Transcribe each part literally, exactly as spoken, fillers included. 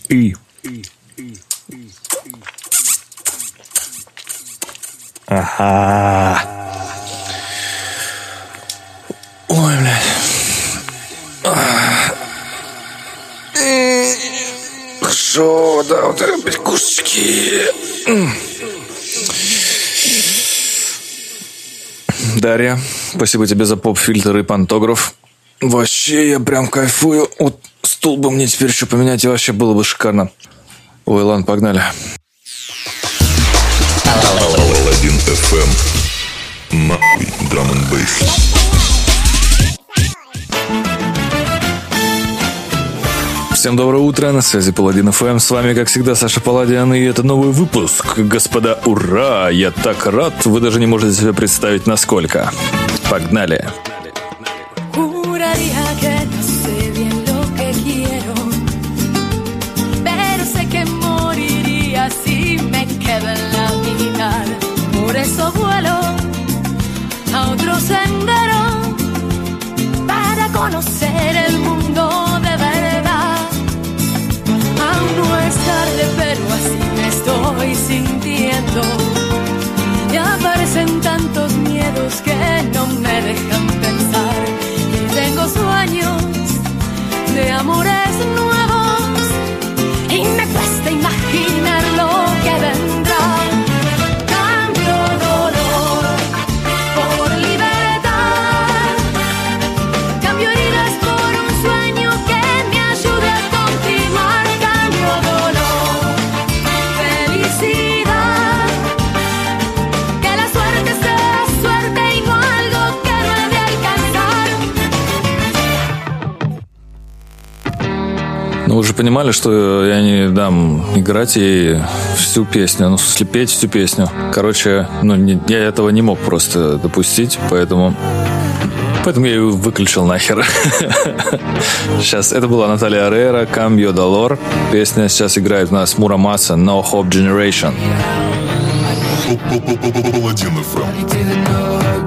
И. Ага. Ой, блядь. Хорошо, да, вот это пикушечки. Дарья, спасибо тебе за поп-фильтр и пантограф. Вообще, я прям кайфую. Вот стул бы мне теперь еще поменять, и вообще было бы шикарно. Ой, ладно, погнали. Паладин эф эм. Нахуй драм н бейс. Всем доброе утро, на связи Паладин эф эм. С вами, как всегда, Саша Паладин, и это новый выпуск. Господа, ура! Я так рад, вы даже не можете себе представить, насколько. Погнали! Pero así me estoy sintiendo. Ya aparecen tantos miedos que no me dejan pensar. Y tengo sueños de amores nuevos y me cuesta imaginar lo que vendrá. Cambio dolor por libertad. Cambio heridas por un sueño que me ayude a continuar. Cambio dolor, felicidad. Que la suerte sea suerte y no algo que no he de alcanzar. Ну, вы же понимали, что я не дам играть ей всю песню, ну, в смысле, петь всю песню. Короче, ну, не, я этого не мог просто допустить, поэтому... Поэтому я ее выключил нахер. Сейчас, это была Наталья Орейро, Cambio Dolor. Песня сейчас играет у нас Мура Маса, No Hope Generation. Паладин эф эм.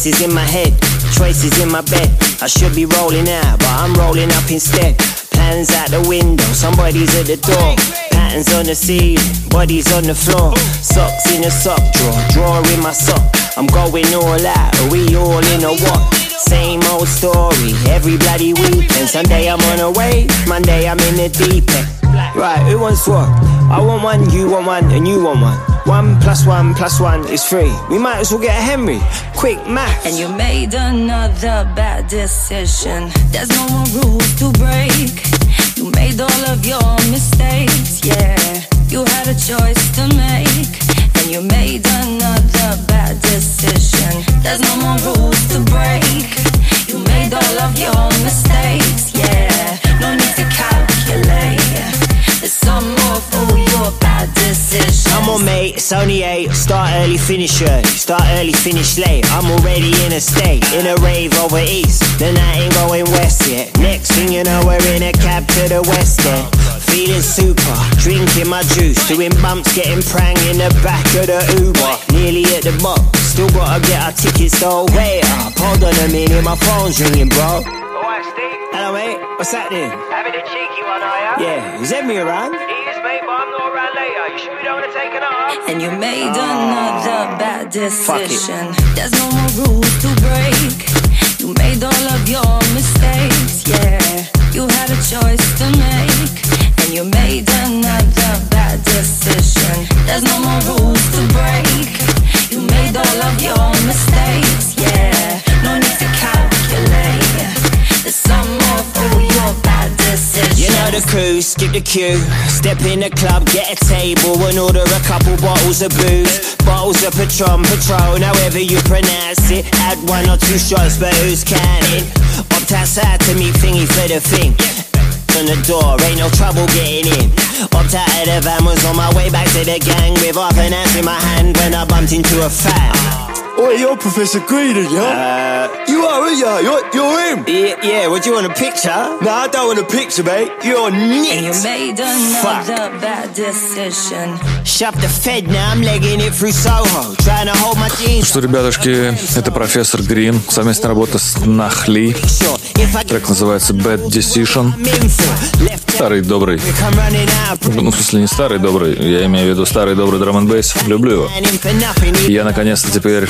Voices in my head, choices in my bed. I should be rolling out, but I'm rolling up instead. Plans out the window, somebody's at the door. Patterns on the ceiling, bodies on the floor. Socks in a sock drawer, drawer in my sock. I'm going all out, are we all in a what? Same old story, every bloody weekend. Sunday I'm on a wave, Monday I'm in the deep end. Right, who wants what? I want one, you want one, and you want one. One plus one plus one is three. We might as well get a Henry. Quick maths. And you made another bad decision. There's no more rules to break. You made all of your mistakes, yeah. You had a choice to make. And you made another bad decision. There's no more rules to break. You made all of your mistakes, yeah. No need to calculate. The sum of all your bad decisions. Come on mate, it's only eight. Start early, finish early. Start early, finish late. I'm already in a state, in a rave over east. The night ain't going west yet. Next thing you know, we're in a cab to the west end. Feeling super, drinking my juice. Doing bumps, getting prang in the back of the Uber. Nearly at the box, still gotta get our tickets though. Wait up, hold on a minute, my phone's ringing bro. Alright Steve. Hello mate, what's happening? Having a cheeky one, are ya? Yeah, is Emmy around? He is mate, but I'm not around later. You sure we don't want to take it up? And you made another bad decision. There's no more rules to break. You made all of your mistakes, yeah. You had a choice to make. And you made another bad decision. There's no more rules to break. You made all of your mistakes, yeah. No need to calculate the sum of all your bad decisions. You know the crew, skip the queue. Step in the club, get a table and order a couple bottles of booze. Bottles of Patron, Patron, however you pronounce it. Add one or two shots, but who's counting? Opt outside to meet thingy for the thing. On the door, ain't no trouble getting in. Opt out of the van, was on my way back to the gang with half an ounce in my hand when I bumped into a fan. Oh, you're Professor Green, yeah? Uh, you are, aren't you? You're, you're him. Yeah, yeah, what do you want, a picture? No, I don't want a picture, mate. You're neat. And you made another Fuck. bad decision. Shove the Fed, now I'm legging it through Soho. Trying to hold my jeans. Что, ребятушки, это профессор Грин, совместная работа с Нахли. Трек называется Bad Decision. Старый добрый. Ну, в смысле, не старый добрый, я имею в виду старый добрый драм н бейс. Люблю его. И я наконец-то теперь,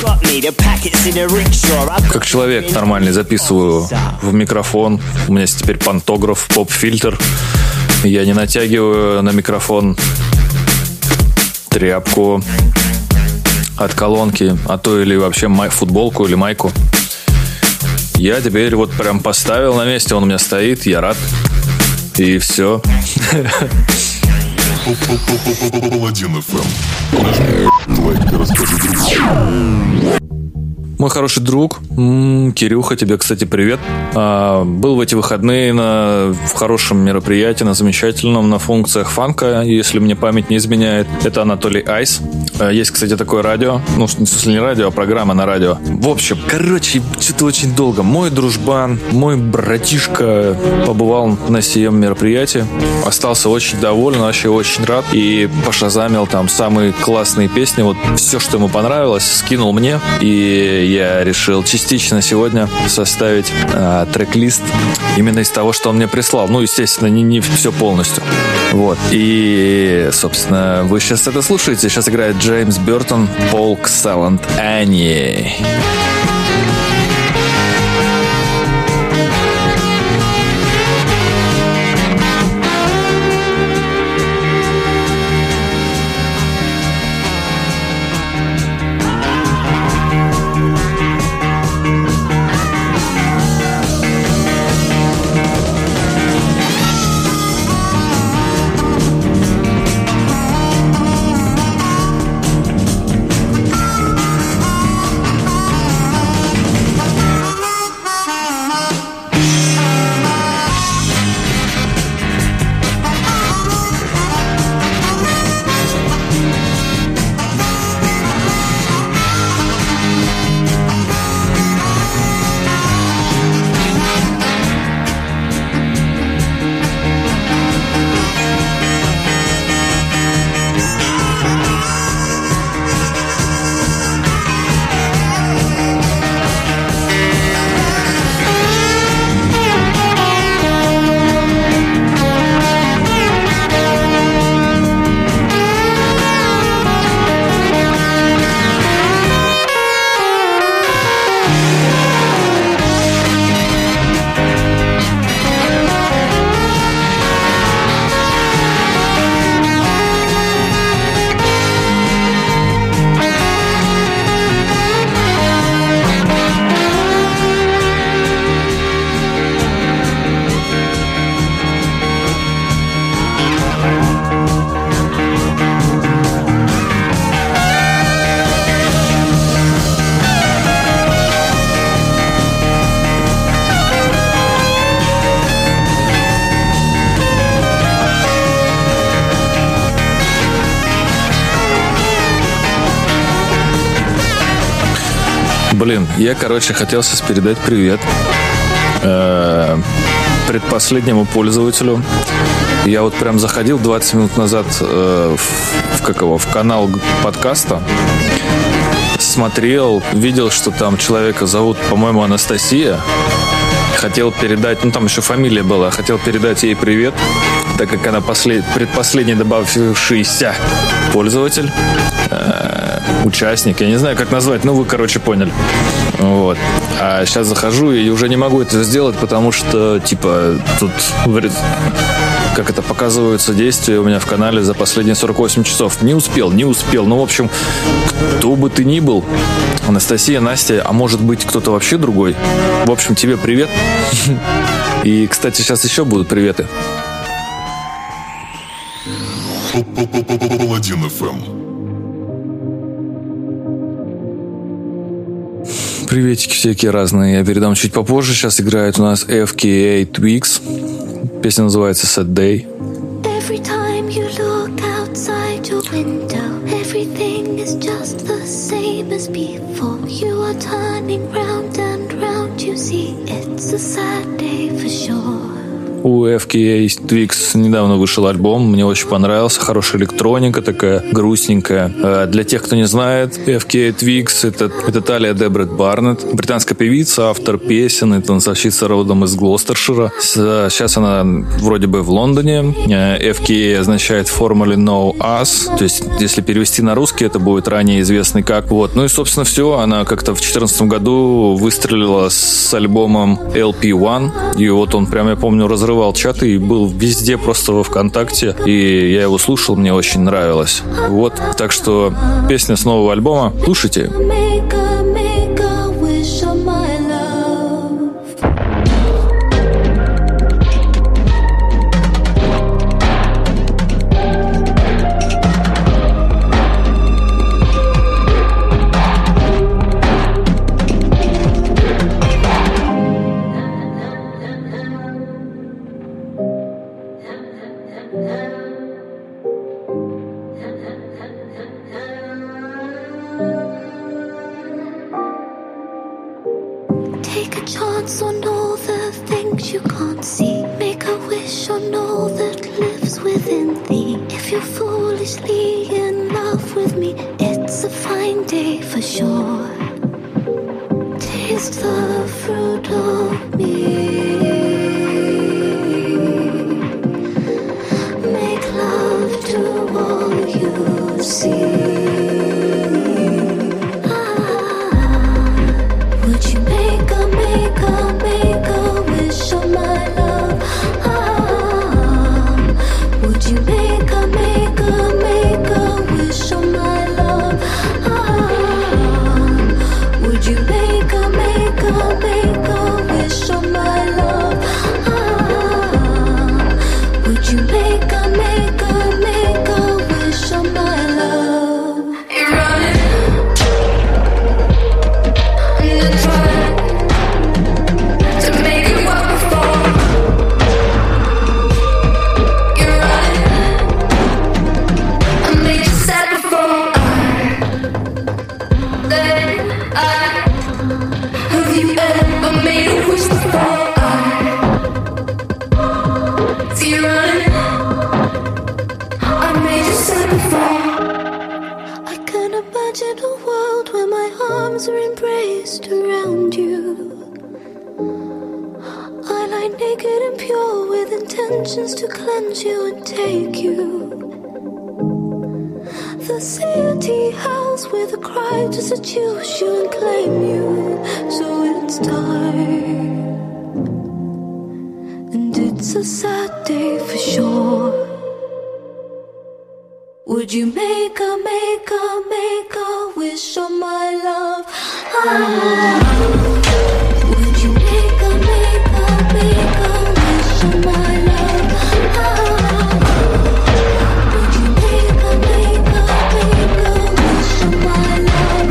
как человек нормальный, записываю в микрофон. У меня есть теперь пантограф, поп-фильтр. Я не натягиваю на микрофон тряпку от колонки, а то или вообще май, футболку или майку. Я теперь вот прям поставил на месте, он у меня стоит, я рад. И все. Паладин эф эм. Нажми лайк и расскажи другу. Мой хороший друг, м-м, Кирюха, тебе, кстати, привет. А, был в эти выходные на, в хорошем мероприятии, на замечательном, на функциях фанка, если мне память не изменяет. Это Анатолий Айс. А, есть, кстати, такое радио. Ну, в смысле, не радио, а программа на радио. В общем, короче, что-то очень долго. Мой дружбан, мой братишка побывал на сем мероприятии. Остался очень доволен, вообще очень рад. И пошазамил там самые классные песни. Вот все, что ему понравилось, скинул мне. И я решил частично сегодня составить э, трек-лист именно из того, что он мне прислал. Ну, естественно, не, не все полностью. Вот. И, собственно, вы сейчас это слушаете. Сейчас играет Джеймс Бёртон, Polk Salad Annie. Блин, я, короче, хотел сейчас передать привет э, предпоследнему пользователю. Я вот прям заходил двадцать минут назад э, в, в, как его, в канал подкаста, смотрел, видел, что там человека зовут, по-моему, Анастасия. Хотел передать, ну там еще фамилия была, хотел передать ей привет, так как она послед, предпоследний добавившийся пользователь, э, участник, я не знаю, как назвать, ну вы, короче, поняли. Вот. А сейчас захожу и уже не могу это сделать, потому что, типа, тут, как это, показываются действия у меня в канале за последние сорок восемь часов. Не успел, не успел. Ну, в общем, кто бы ты ни был, Анастасия, Настя, а может быть кто-то вообще другой. В общем, тебе привет. И, кстати, сейчас еще будут приветы. Паладин эф эм. Приветики всякие разные. Я передам чуть попозже. Сейчас играет у нас эф кей эй Twigs. Песня называется Sad Day. Every time you look outside your window, everything is just the same as before. You are turning round and round, you see it's a sad day for sure. У эф кей эй Twigs недавно вышел альбом, мне очень понравился, хорошая электроника такая, грустненькая. Для тех, кто не знает, эф кей эй Twigs это, это Талия Дебрет Барнетт, британская певица, автор песен и танцовщица родом из Глостершира. Сейчас она вроде бы в Лондоне. эф кей эй означает Formerly Know Us, то есть если перевести на русский, это будет ранее известный как. Вот. Ну и, собственно, все. Она как-то в две тысячи четырнадцатом году выстрелила с альбомом эл пи один, и вот он прям, я помню, разрывал чаты и был везде, просто во ВКонтакте, и я его слушал, мне очень нравилось. Вот, так что песня с нового альбома, слушайте. Would you make a, make a, make a wish on my love? Ah. Would you make a, make a, make a wish on my love? Ah. Would you make a, make a, make a wish on my love?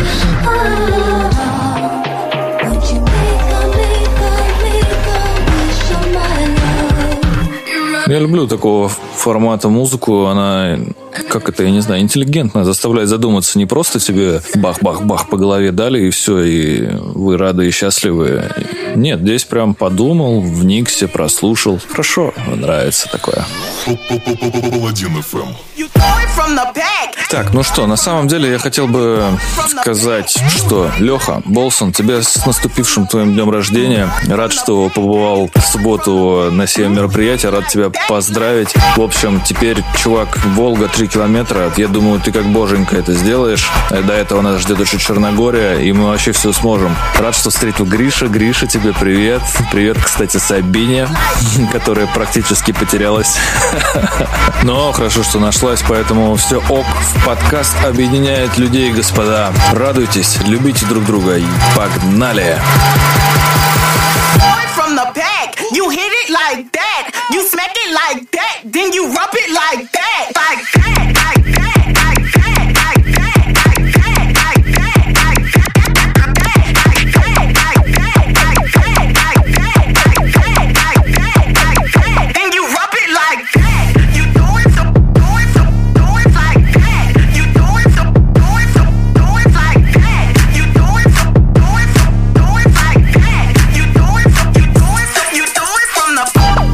Ah. Would you make a, make a, make a wish on my love? You're right. Я люблю такого формата музыку. Она, как это, я не знаю, интеллигентная, заставляет задуматься. Не просто тебе бах-бах-бах по голове дали, и все, и вы рады и счастливы. Нет, здесь прям подумал, вникся, прослушал. Хорошо, нравится такое. Паладин эф эм. Так, ну что, на самом деле я хотел бы сказать, что, Леха, Болсон, тебя с наступившим твоим днем рождения. Рад, что побывал в субботу на сем мероприятия. Рад тебя поздравить. В общем, теперь, чувак, Волга три километра. Я думаю, ты как боженька это сделаешь. До этого нас ждет еще Черногория, и мы вообще все сможем. Рад, что встретил Гриша. Гриша, тебе привет. Привет, кстати, Сабине, которая практически потерялась. Но хорошо, что нашлась, поэтому все ок. Подкаст объединяет людей, господа. Радуйтесь, любите друг друга и погнали! You hit it like that, you smack it like that, then you rub it like that, like that, like that, like that, like that, like that, like that, like that, like that, like that, like that, like that, like that, like that, like that, then you rub it like that. You do it so, do it so, do it like that. You do it so, do it so, do it like that. You do it so, do it so, do it like that. You do it so, you do it so, you do it from the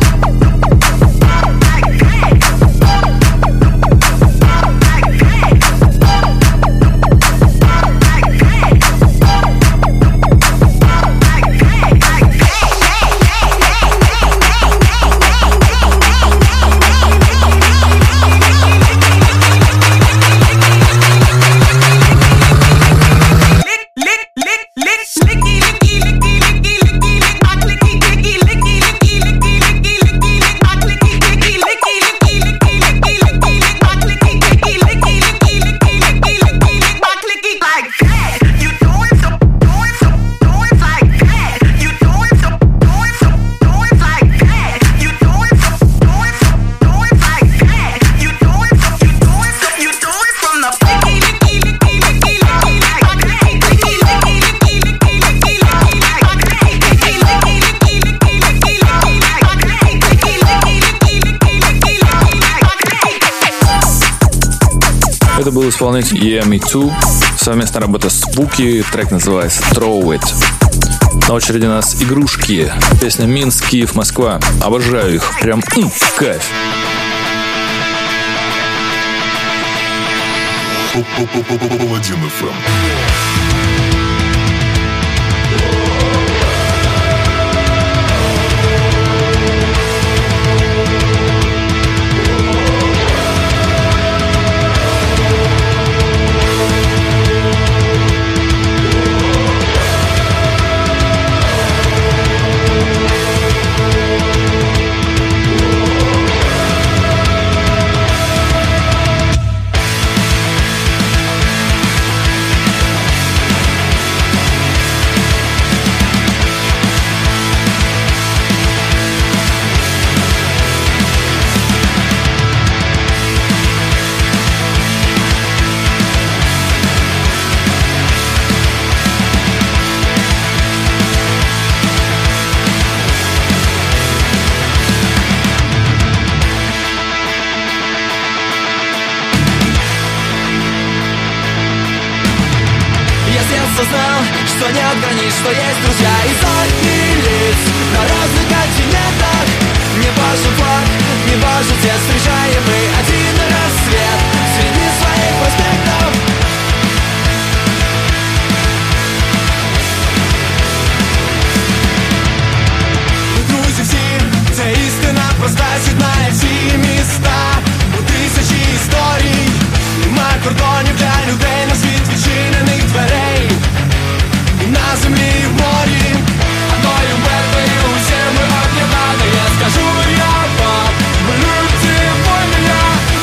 Это был исполнитель Yeah Me Too. Совместная работа с Буки. Трек называется Throw It. На очереди у нас игрушки. Песня Минск, Киев, Москва. Обожаю их. Прям м, кайф. Паладин эф эм. Осознал, что нет границ, что есть друзья и сотни лиц на разных континентах. Не важен флаг, не важен цвет, встречаем мы один рассвет среди своих проспектов. Друзі всі, це істина проста, з'єднає всі міста. У тисячі історій нема кордонів для людей, на світ відчинених дверей. І на землі, і в морі, одною метою усі ми об'єднані. Я скажу, я вам, ми люди, воля,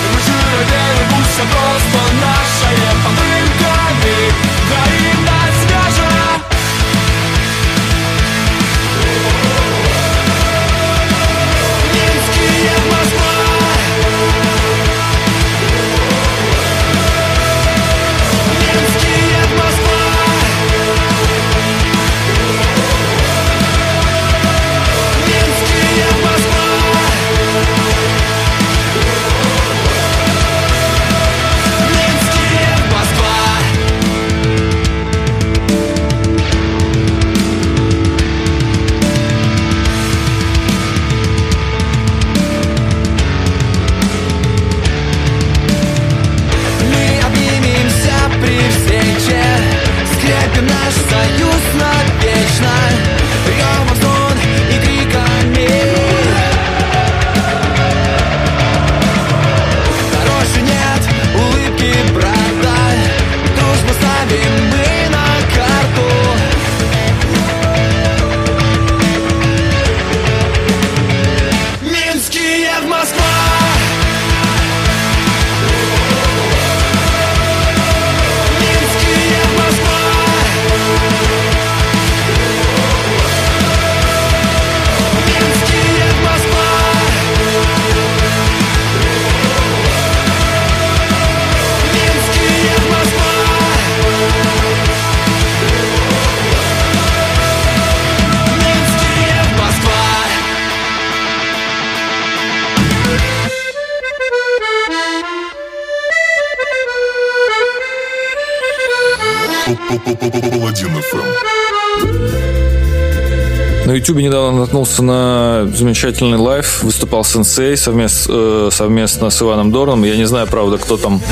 Паладин эф эм. На Ютубе недавно наткнулся на замечательный лайв. Выступал Сенсей совместно, э, совместно с Иваном Дорном. Я не знаю, правда, кто там,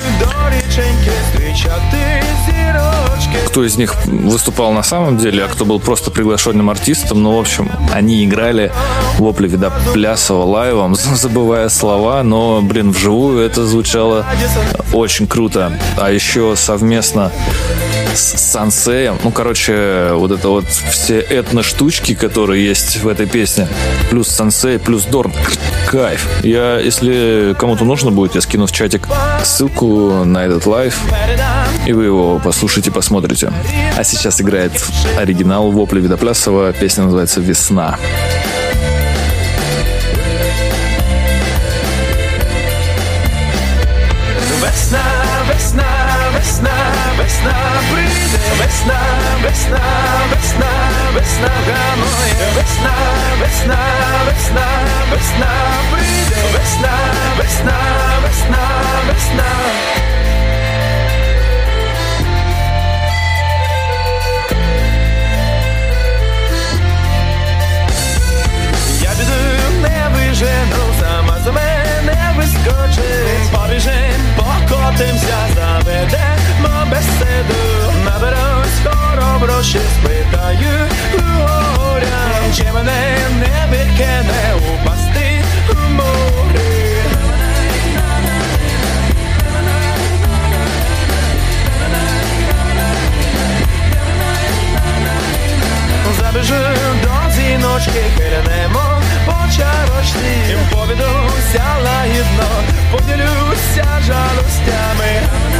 кто из них выступал на самом деле, а кто был просто приглашенным артистом. Ну, в общем, они играли вопли вида плясово лайвом, забывая слова, но, блин, вживую это звучало очень круто. А еще совместно с Сансеем, ну, короче, вот это вот все этно-штучки, которые есть в этой песне, плюс Сансей, плюс Дорн, кайф. Я, если кому-то нужно будет, я скину в чатик ссылку на этот лайв, и вы его послушайте, посмотрите. А сейчас играет оригинал вопли Видоплясова, песня называется «Весна». Весна, весна, весна, весна прийде, весна, весна, весна, весна гамує, весна, весна, весна, весна прийде, весна, весна, весна, весна. Я піду, не вижену, сама за мене вискочить, побіжим, покотимся, заведемо беседу, наберусь хороброщі, спитаю у горя, чи мене не викине упасти у морі. Забіжу до зіночки, хилянемо по чарочці, повідуся лагідно, поділюся жалостями.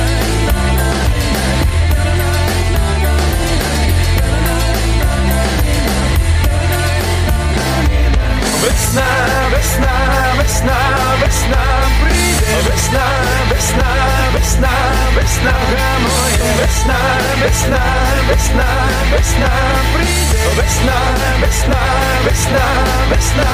Весна, весна, весна, весна прийде, весна, весна, весна, весна гамує, весна, весна, весна, весна прийде, весна, весна, весна, весна.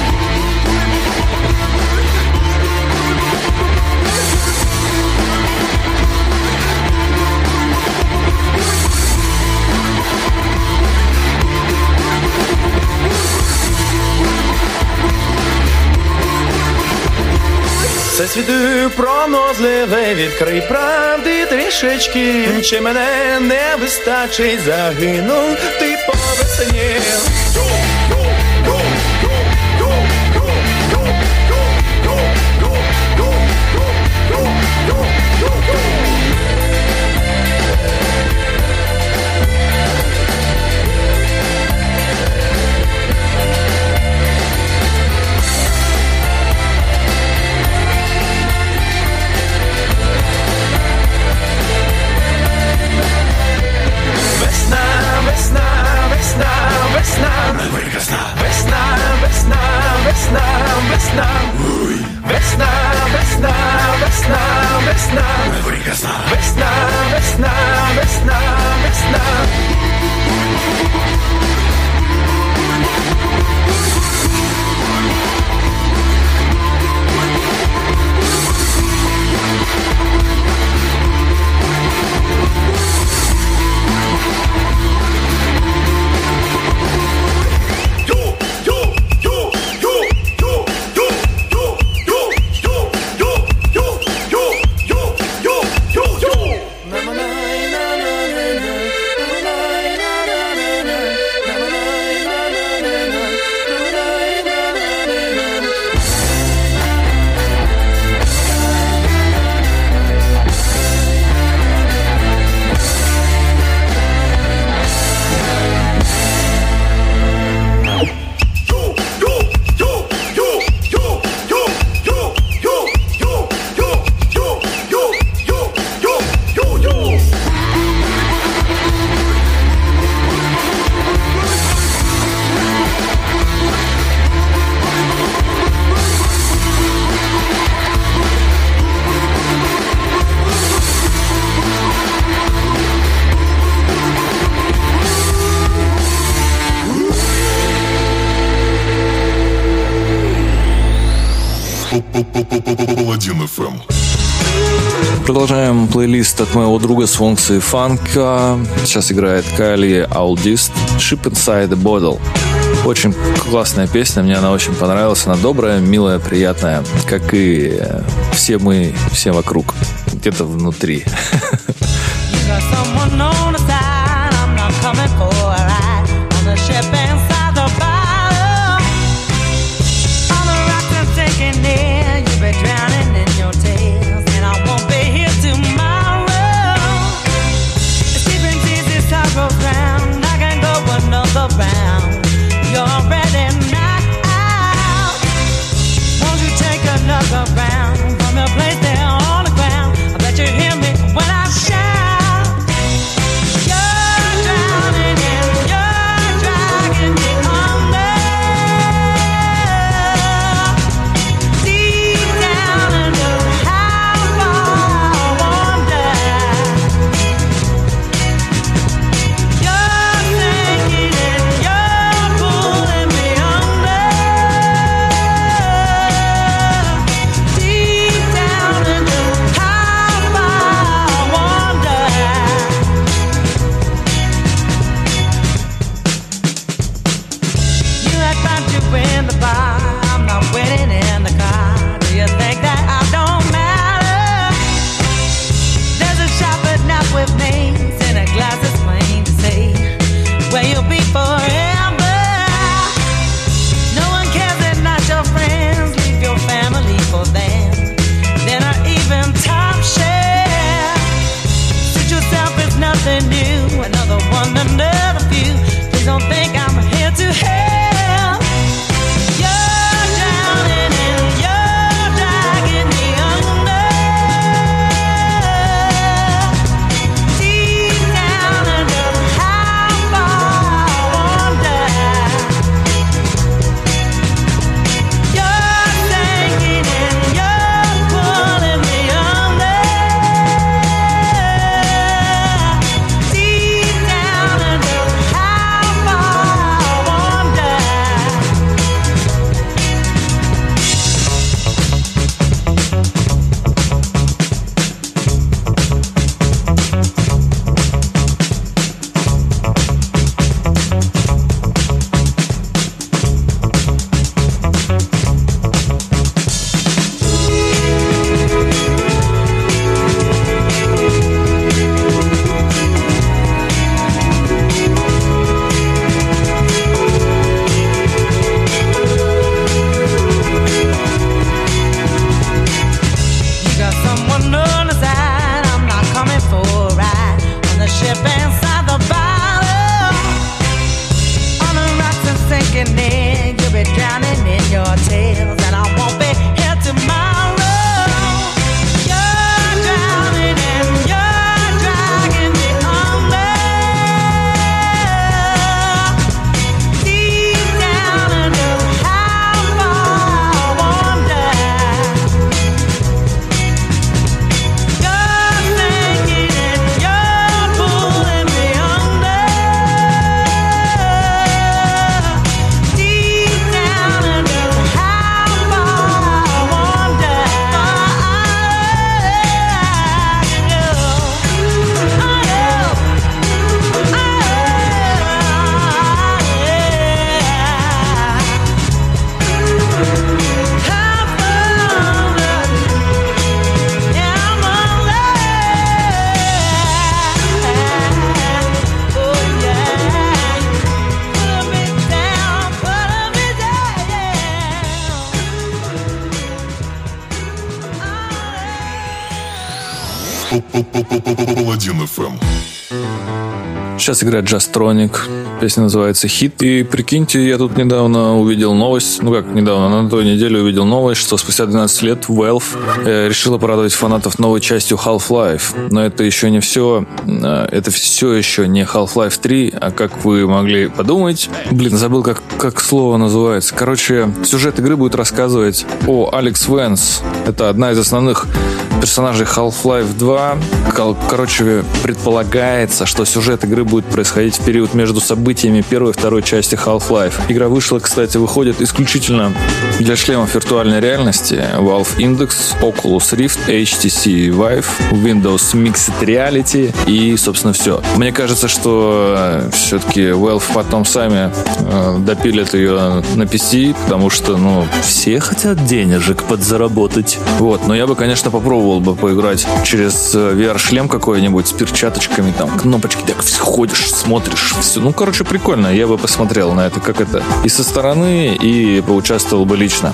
Це світи пронозливе, відкрий правди трішечки, чи мене не вистачить, загинув ти по весні. Весна, весна, весна, весна, весна, весна, весна, весна, весна, весна, весна, весна, весна. Паладин эф эм. Продолжаем плейлист от моего друга с функцией фанка. Сейчас играет Кайли Алдист «Ship Inside the Bottle». Очень классная песня, мне она очень понравилась. Она добрая, милая, приятная, как и все мы, все вокруг, где-то внутри. Паладин эф эм. Сейчас играет Джастроник. Песня называется «Хит». И прикиньте, я тут недавно увидел новость, ну как недавно, на той неделе увидел новость, что спустя двенадцать лет Valve э, решила порадовать фанатов новой частью Half-Life. Но это еще не все. Э, это все еще не Half-Life три, а как вы могли подумать... Блин, забыл, как, как слово называется. Короче, сюжет игры будет рассказывать о Алекс Венс. Это одна из основных персонажей Half-Life два. Короче, предполагается, что сюжет игры будет происходить в период между событиями первой и второй части Half-Life. Игра вышла, кстати, выходит исключительно Для шлемов виртуальной реальности Valve Index, Oculus Rift, эйч ти си Vive, Windows Mixed Reality и, собственно, все. Мне кажется, что все-таки Valve потом сами э, допилят ее на пи си, потому что, ну, все хотят денежек подзаработать. Вот, но я бы, конечно, попробовал бы поиграть через ви ар-шлем какой-нибудь с перчаточками, там, кнопочки, так ходишь, смотришь, все. Ну, короче, прикольно. Я бы посмотрел на это, как это и со стороны, и поучаствовал бы лично.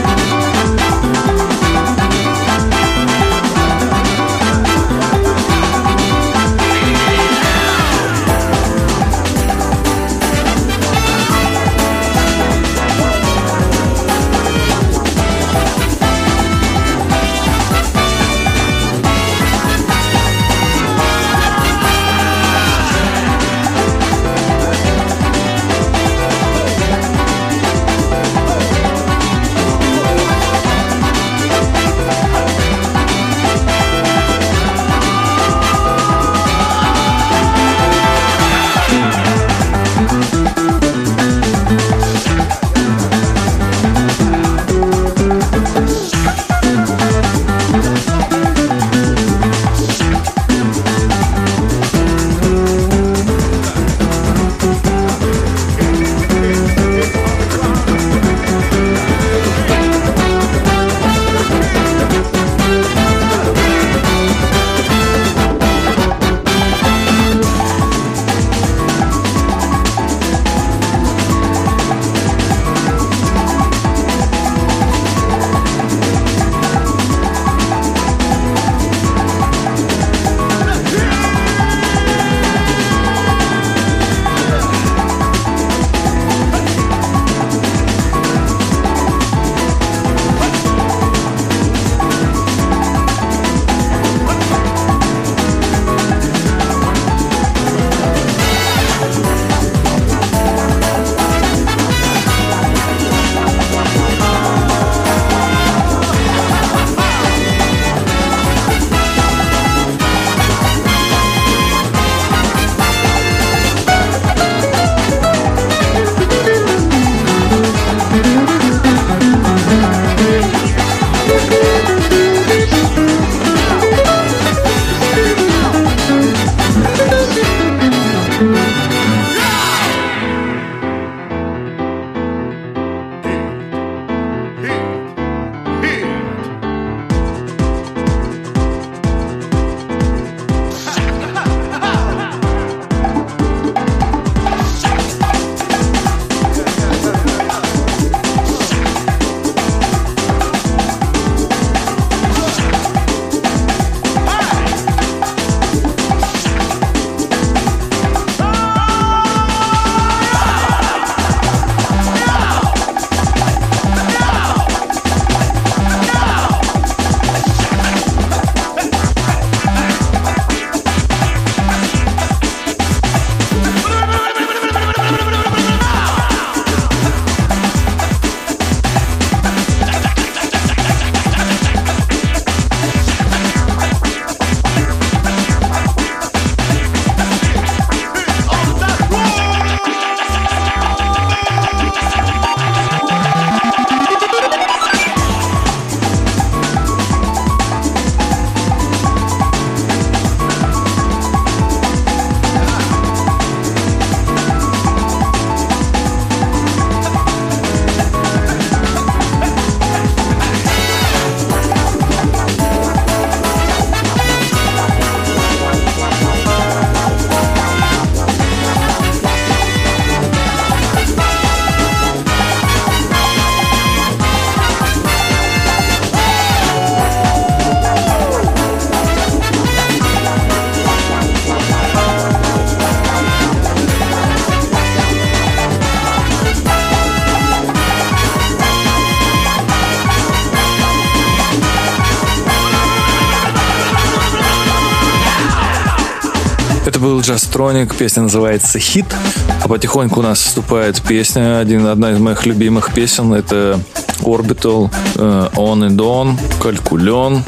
Это был Jazztronic, песня называется «Хит». А потихоньку у нас вступает песня, один, одна из моих любимых песен. Это Orbital, uh, On and On, Calculon,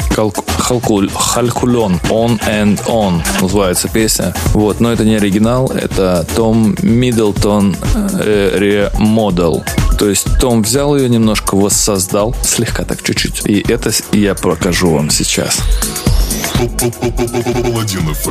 Calculon, On and On называется песня. Вот, но это не оригинал, это Том Миддлтон Remodel. То есть Том взял ее, немножко воссоздал, слегка так чуть-чуть. И это я покажу вам сейчас. Паладин эф эм.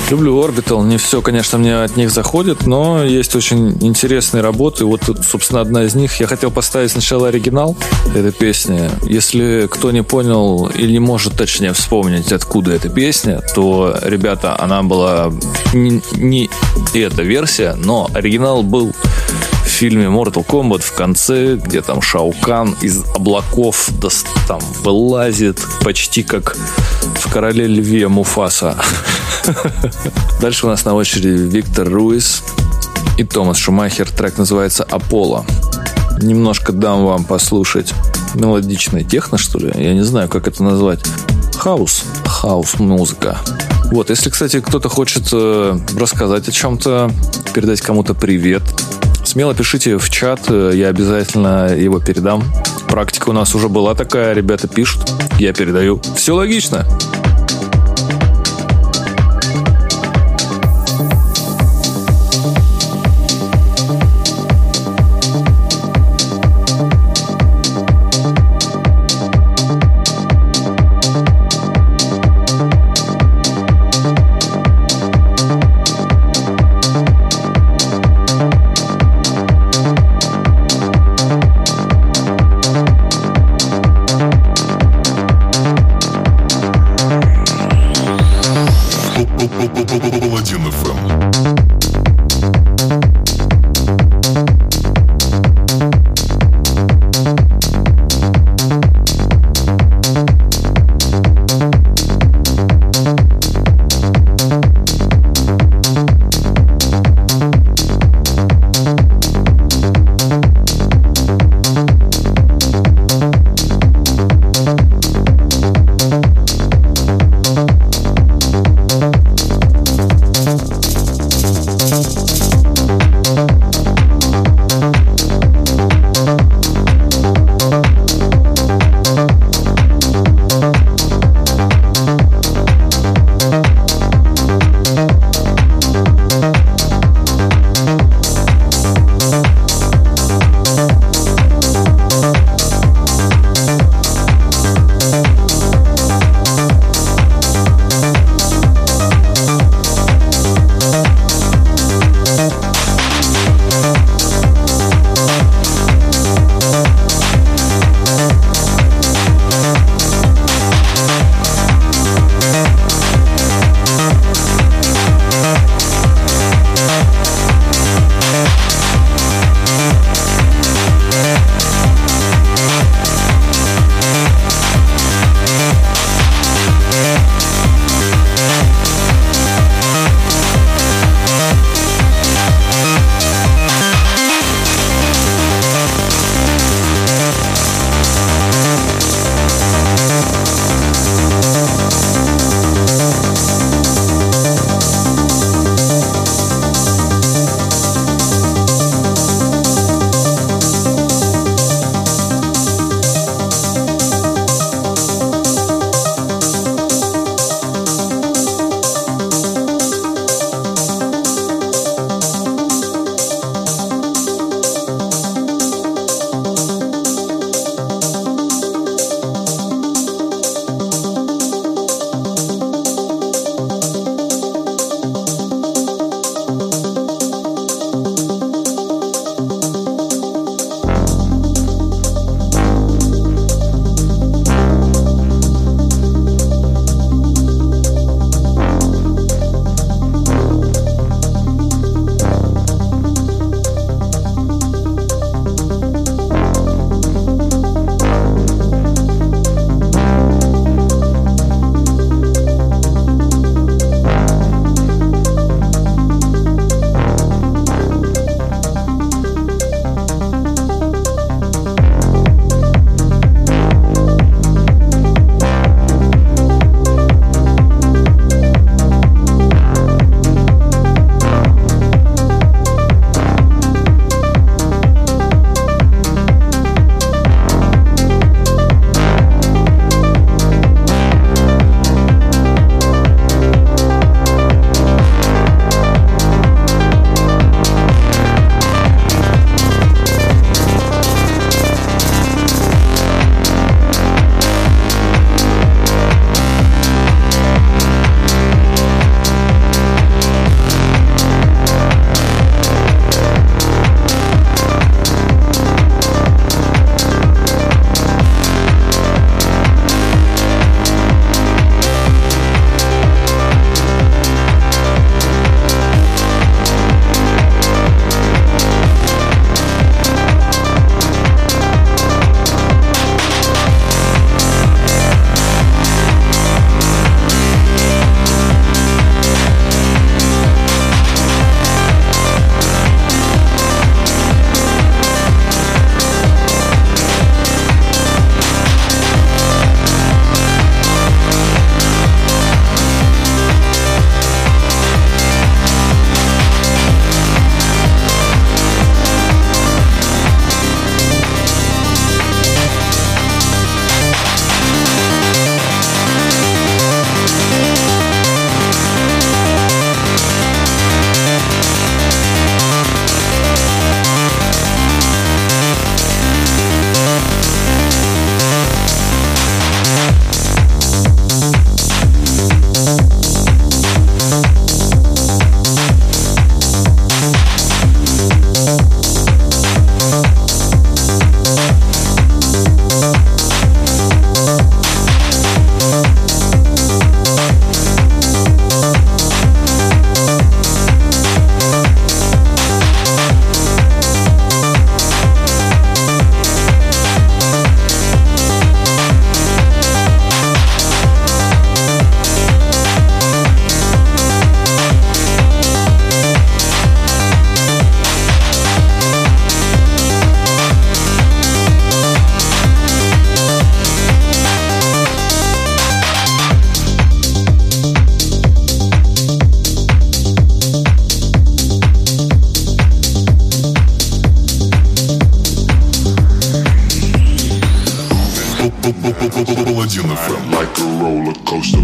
Люблю Orbital. Не все, конечно, мне от них заходит, но есть очень интересные работы. Вот, собственно, одна из них. Я хотел поставить сначала оригинал этой песни. Если кто не понял или не может точнее вспомнить, откуда эта песня, то, ребята, она была не, не эта версия, но оригинал был в фильме Mortal Kombat в конце, где там Шао Кан из облаков там вылазит почти как в Короле Льве Муфаса. Дальше у нас на очереди Виктор Руис и Томас Шумахер. Трек называется «Аполло». Немножко дам вам послушать мелодичный техно, что ли. Я не знаю, как это назвать. Хаус. Хаус-музыка. Вот, если, кстати, кто-то хочет э, рассказать о чем-то, передать кому-то привет, смело пишите в чат, я обязательно его передам. Практика у нас уже была такая, ребята пишут, я передаю. Все логично. Паладин эф эм. Like a roller coaster.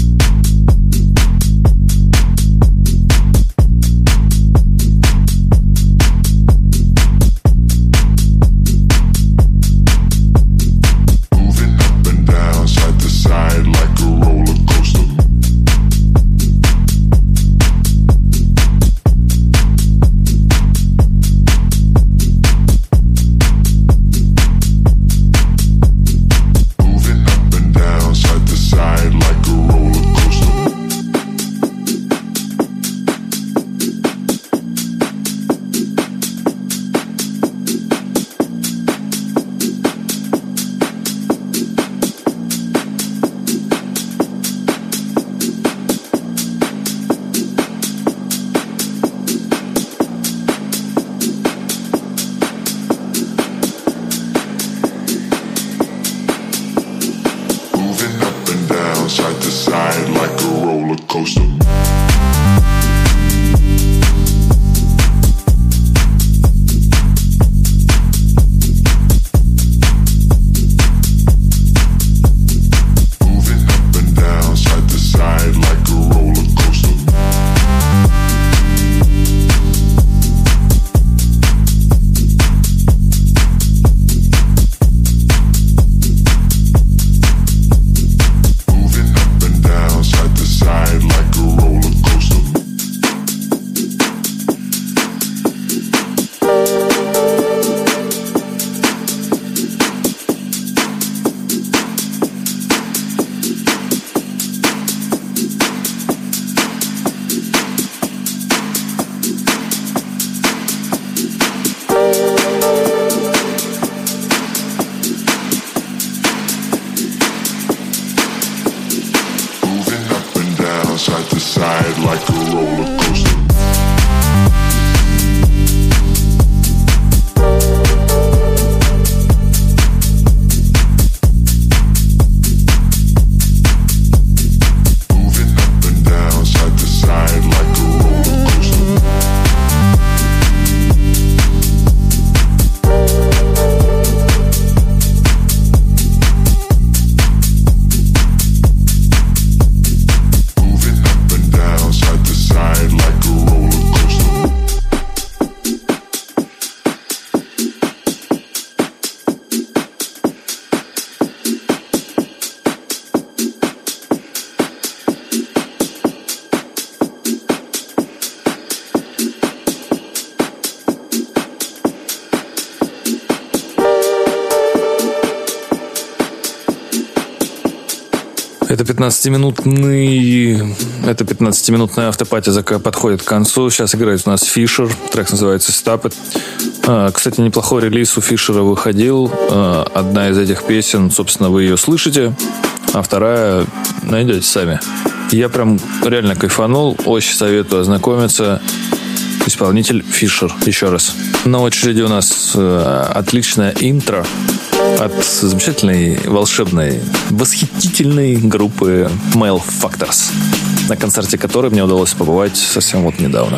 Это пятнадцатиминутный, это пятнадцатиминутная автопати подходит к концу. Сейчас играет у нас Фишер. Трек называется Stop It. Кстати, неплохой релиз у Фишера выходил. Одна из этих песен, собственно, вы ее слышите, а вторая найдете сами. Я прям реально кайфанул. Очень советую ознакомиться. Исполнитель Фишер. Еще раз. На очереди у нас отличное интро от замечательной, волшебной, восхитительной группы Male Factors, на концерте которой мне удалось побывать совсем вот недавно.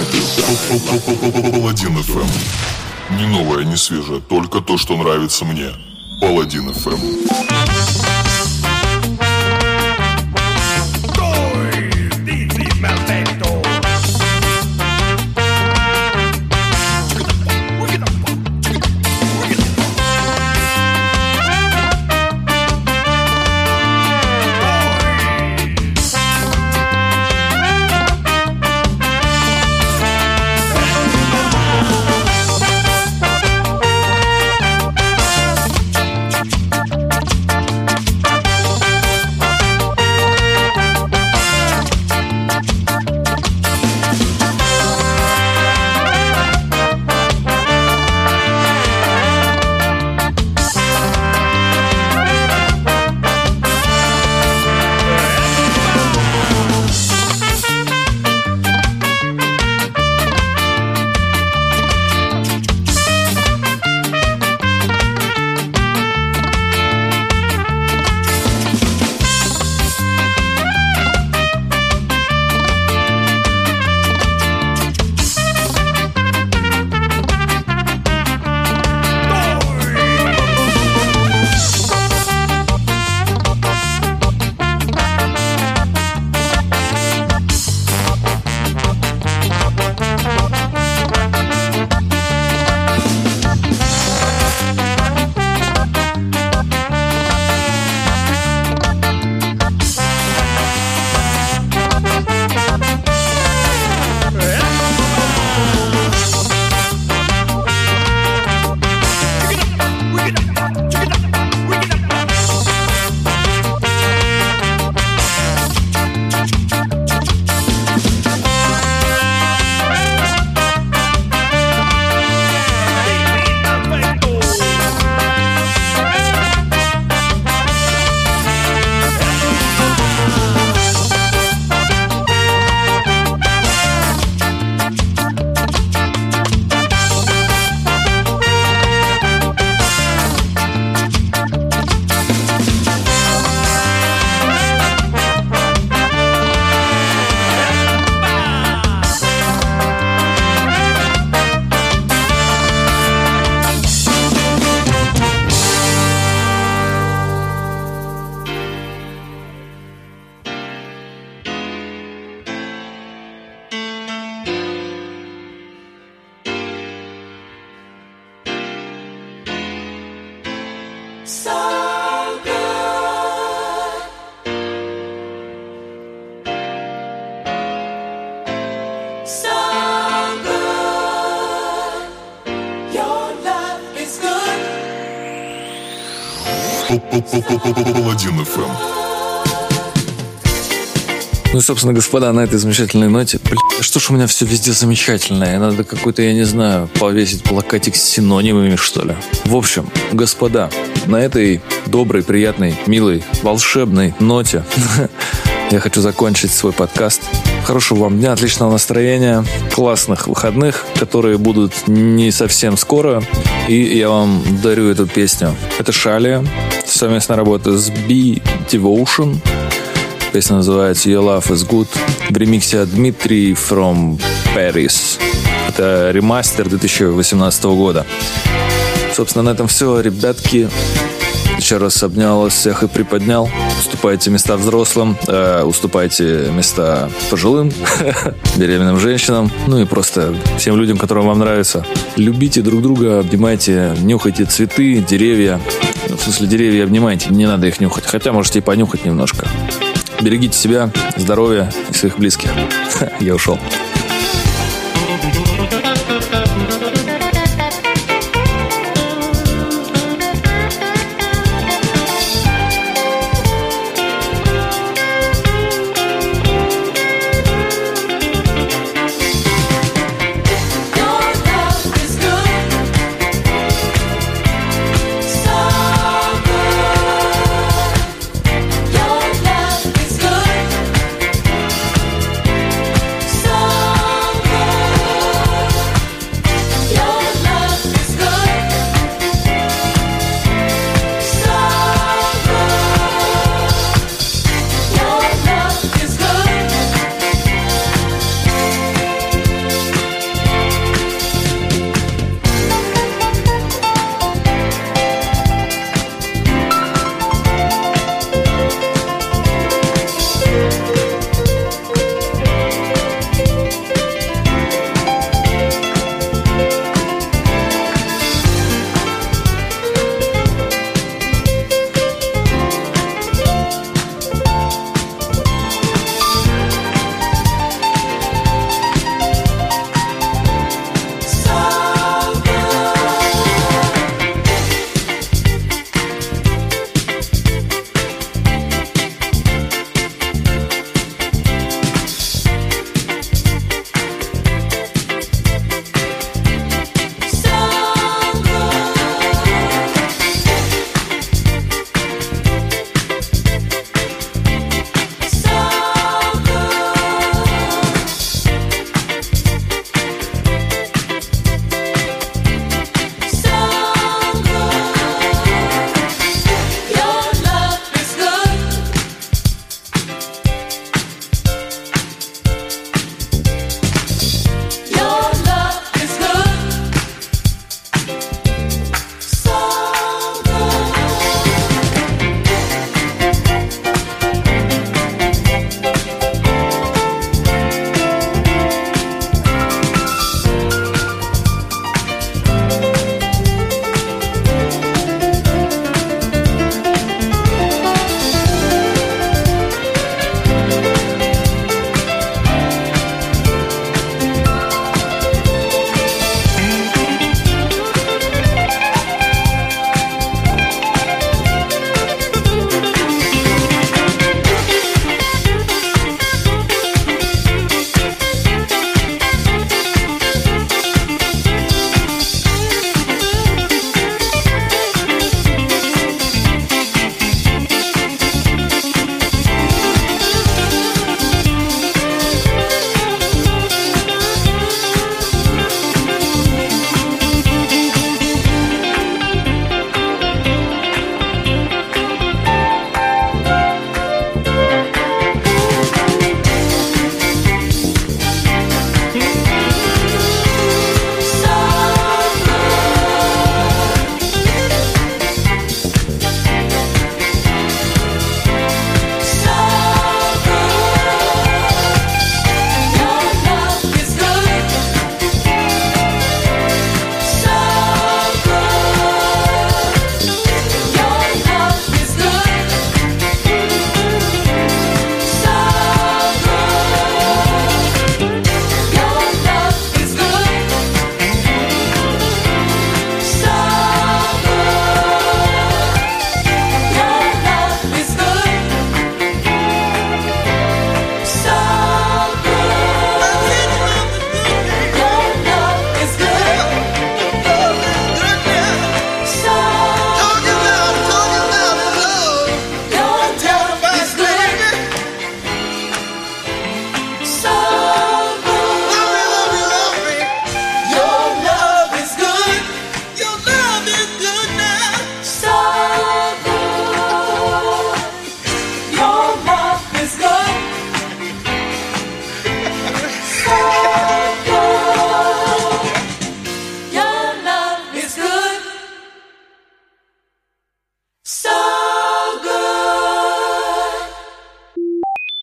Паладин эф эм. Не новое, не свежее, только то, что нравится мне. Паладин эф эм. Паладин эф эм. Ну и, собственно, господа, на этой замечательной ноте, блин, что ж у меня все везде замечательное, надо какой-то, я не знаю, повесить плакатик с синонимами, что ли. В общем, господа, на этой доброй, приятной, милой, волшебной ноте я хочу закончить свой подкаст. Хорошего вам дня, отличного настроения, классных выходных, которые будут не совсем скоро. И я вам дарю эту песню. Это Шалия, совместная работа с B Devotion. Песня называется Your Love Is Good в ремиксе от Дмитрий from Paris. Это ремастер две тысячи восемнадцатого года. Собственно, на этом все, ребятки. Еще раз обнял вас всех и приподнял. Уступайте места взрослым, э, уступайте места пожилым, беременным женщинам, ну и просто всем людям, которым вам нравится. Любите друг друга, обнимайте, нюхайте цветы, деревья. В смысле, деревья обнимайте, не надо их нюхать. Хотя можете и понюхать немножко. Берегите себя, здоровья и своих близких. Я ушел.